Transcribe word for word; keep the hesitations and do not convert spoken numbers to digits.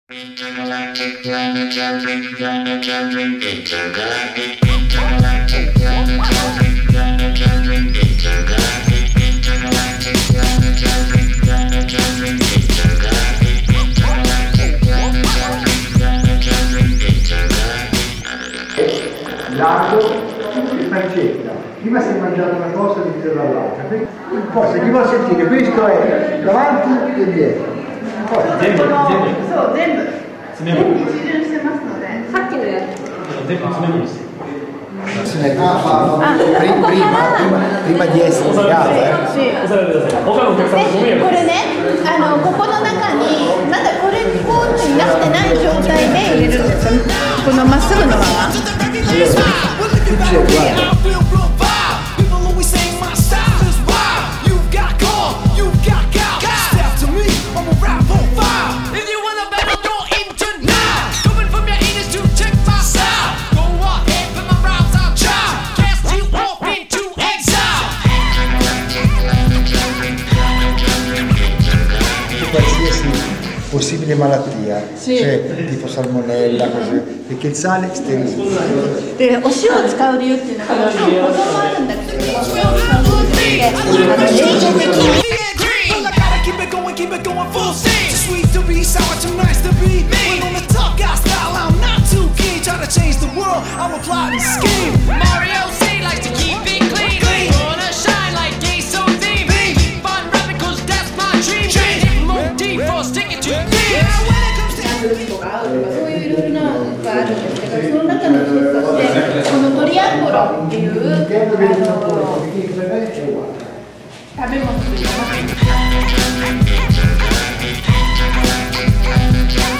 Intergalactic planetary, planetary, intergalactic, intergalactic, planetary, planetary, intergalactic, intergalactic, planetary, planetary, intergalactic, intergalactic, planetary, planetary, intergalactic. Largo e pancetta. Prima si è mangiato una cosa e dice dall'altra. Poi se chi vuole sentire, questo è davanti e dietro. 全部全部そう全部詰め物一巡してますのでさっきのやつ全部詰め物です Ah, prima, prima, prima di essere legato, eh? Sì. 押さえてください。他のお客さんご迷惑これね、あのここの中にまだこれポーチになってない状態で入れるんですよ。このまっすぐのまま。 Possibile malattia, sì. Cioè tipo salmonella, così, perché il sale sterilizza. で、お塩を使う理由っていうのは、もちろん保存もあるんだけど、お塩を使うことで、あの冷凍的に。そういういろいろなのがあるんですけど、その中の一つとしてこのトリアンゴロっていうあの食べ物というか。